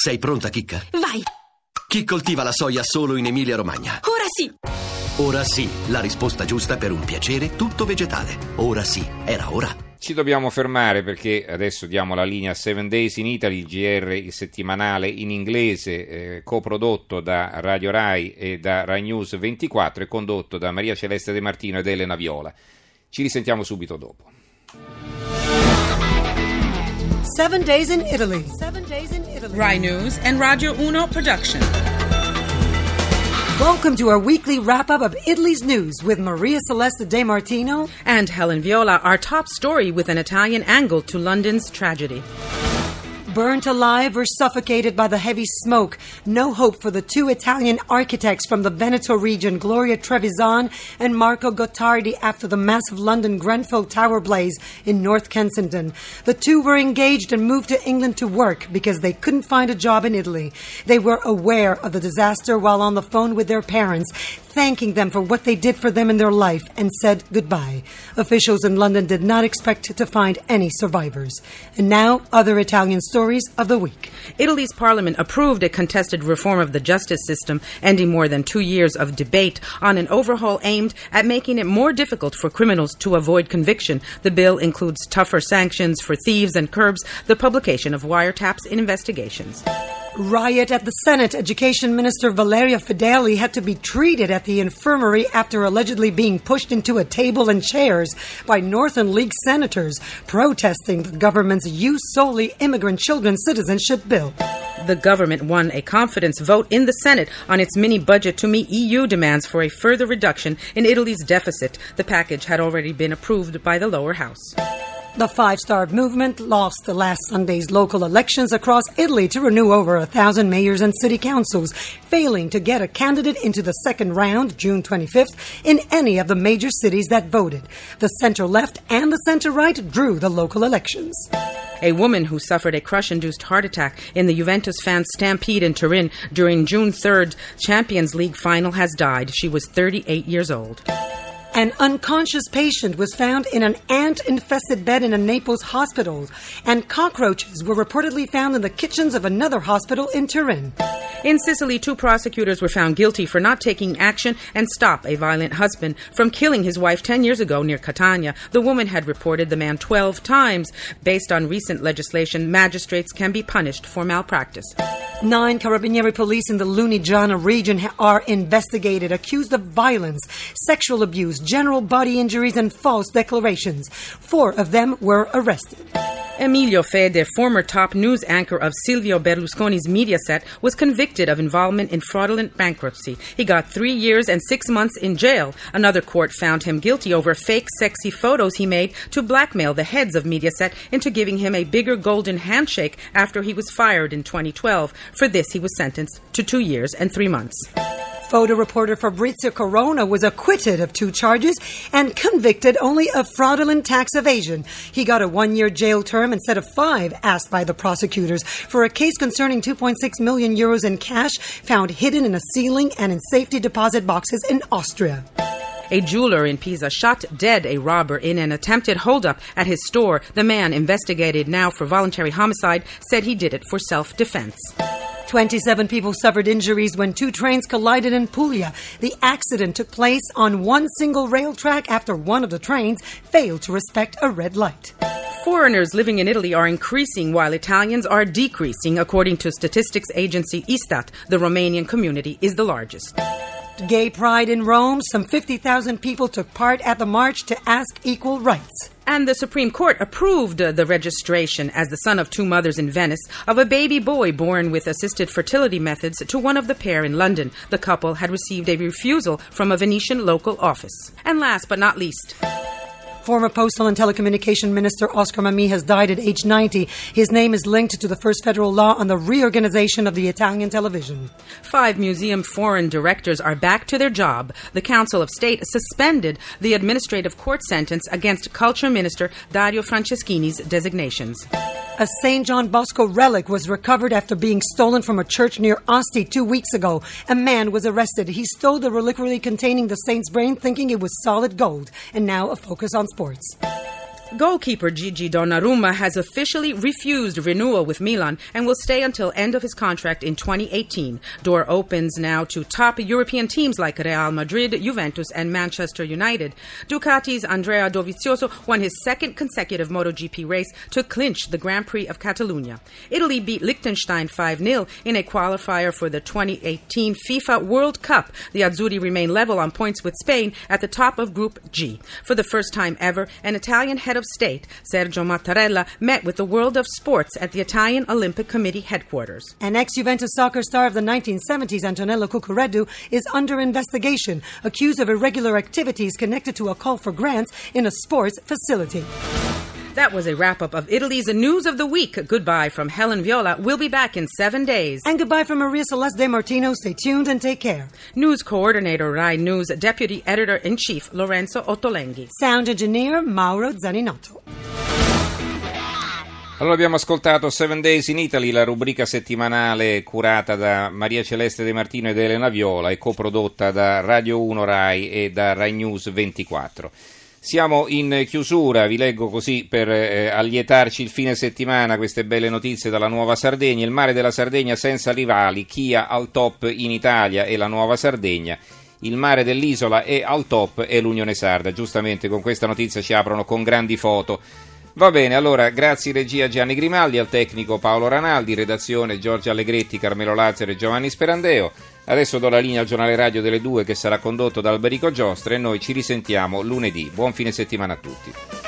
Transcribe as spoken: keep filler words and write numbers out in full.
Sei pronta, Chicca? Vai! Chi coltiva la soia solo in Emilia-Romagna? Ora sì! Ora sì, la risposta giusta per un piacere tutto vegetale. Ora sì, era ora. Ci dobbiamo fermare perché adesso diamo la linea Seven Days in Italy, il G R, il settimanale in inglese, eh, coprodotto da Radio Rai e da Rai News ventiquattro e condotto da Maria Celeste De Martino ed Elena Viola. Ci risentiamo subito dopo. Seven Days in Italy. Seven Days in Italy. Rai News and Radio Uno production. Welcome to our weekly wrap-up of Italy's news with Maria Celeste De Martino and Helen Viola, our top story with an Italian angle to London's tragedy. Burnt alive or suffocated by the heavy smoke. No hope for the two Italian architects from the Veneto region, Gloria Trevisan and Marco Gottardi, after the massive London Grenfell Tower blaze in North Kensington. The two were engaged and moved to England to work because they couldn't find a job in Italy. They were aware of the disaster while on the phone with their parents, thanking them for what they did for them in their life, and said goodbye. Officials in London did not expect to find any survivors. And now, other Italian stories of the week. Italy's parliament approved a contested reform of the justice system, ending more than two years of debate on an overhaul aimed at making it more difficult for criminals to avoid conviction. The bill includes tougher sanctions for thieves and curbs the publication of wiretaps in investigations. Riot at the Senate. Education Minister Valeria Fedeli had to be treated at the infirmary after allegedly being pushed into a table and chairs by Northern League senators protesting the government's Use Solely Immigrant Children Citizenship Bill. The government won a confidence vote in the Senate on its mini-budget to meet E U demands for a further reduction in Italy's deficit. The package had already been approved by the lower house. The Five Star Movement lost the last Sunday's local elections across Italy to renew over a thousand mayors and city councils, failing to get a candidate into the second round, June twenty-fifth, in any of the major cities that voted. The center-left and the center-right drew the local elections. A woman who suffered a crush-induced heart attack in the Juventus fan stampede in Turin during June third Champions League final has died. She was thirty-eight years old. An unconscious patient was found in an ant-infested bed in a Naples hospital, and cockroaches were reportedly found in the kitchens of another hospital in Turin. In Sicily, two prosecutors were found guilty for not taking action and stop a violent husband from killing his wife ten years ago near Catania. The woman had reported the man twelve times. Based on recent legislation, magistrates can be punished for malpractice. Nine Carabinieri police in the Lunigiana region are investigated, accused of violence, sexual abuse, general body injuries, and false declarations. Four of them were arrested. Emilio Fede, former top news anchor of Silvio Berlusconi's Mediaset, was convicted of involvement in fraudulent bankruptcy. He got three years and six months in jail. Another court found him guilty over fake sexy photos he made to blackmail the heads of Mediaset into giving him a bigger golden handshake after he was fired in twenty twelve. For this, he was sentenced to two years and three months. Photo reporter Fabrizio Corona was acquitted of two charges and convicted only of fraudulent tax evasion. He got a one-year jail term instead of five asked by the prosecutors for a case concerning two point six million euros in cash found hidden in a ceiling and in safety deposit boxes in Austria. A jeweler in Pisa shot dead a robber in an attempted holdup at his store. The man, investigated now for voluntary homicide, said he did it for self-defense. twenty-seven people suffered injuries when two trains collided in Puglia. The accident took place on one single rail track after one of the trains failed to respect a red light. Foreigners living in Italy are increasing while Italians are decreasing, according to statistics agency Istat. The Romanian community is the largest. Gay Pride in Rome. Some fifty thousand people took part at the march to ask equal rights. And the Supreme Court approved uh, the registration as the son of two mothers in Venice of a baby boy born with assisted fertility methods to one of the pair in London. The couple had received a refusal from a Venetian local office. And last but not least, Former Postal and Telecommunication Minister Oscar Mammì has died at age ninety. His name is linked to the first federal law on the reorganization of the Italian television. Five museum foreign directors are back to their job. The Council of State suspended the administrative court sentence against Culture Minister Dario Franceschini's designations. A Saint John Bosco relic was recovered after being stolen from a church near Asti two weeks ago. A man was arrested. He stole the reliquary containing the saint's brain, thinking it was solid gold. And now a focus on sports. Goalkeeper Gigi Donnarumma has officially refused renewal with Milan and will stay until end of his contract in twenty eighteen. Door opens now to top European teams like Real Madrid, Juventus, and Manchester United. Ducati's Andrea Dovizioso won his second consecutive MotoGP race to clinch the Grand Prix of Catalunya. Italy beat Liechtenstein five nil in a qualifier for the twenty eighteen FIFA World Cup. The Azzurri remain level on points with Spain at the top of Group G. For the first time ever, an Italian head of state, Sergio Mattarella, met with the world of sports at the Italian Olympic Committee headquarters. An ex-Juventus soccer star of the nineteen seventies, Antonello Cucurella, is under investigation, accused of irregular activities connected to a call for grants in a sports facility. That was a wrap-up of Italy's News of the Week. Goodbye from Helen Viola. We'll be back in seven days. And goodbye from Maria Celeste De Martino. Stay tuned and take care. News Coordinator, Rai News, Deputy Editor-in-Chief, Lorenzo Ottolenghi. Sound Engineer, Mauro Zaninotto. Allora abbiamo ascoltato Seven Days in Italy, la rubrica settimanale curata da Maria Celeste De Martino ed Elena Viola e coprodotta da Radio uno Rai e da Rai News ventiquattro. Siamo in chiusura, vi leggo così per eh, allietarci il fine settimana queste belle notizie dalla Nuova Sardegna. Il mare della Sardegna senza rivali, Chia al top in Italia e la Nuova Sardegna. Il mare dell'isola è al top e l'Unione Sarda. Giustamente con questa notizia ci aprono con grandi foto. Va bene, allora grazie regia Gianni Grimaldi, al tecnico Paolo Ranaldi, redazione Giorgio Allegretti, Carmelo Lazzaro e Giovanni Sperandeo. Adesso do la linea al giornale radio delle due che sarà condotto da Alberico Giostra e noi ci risentiamo lunedì. Buon fine settimana a tutti.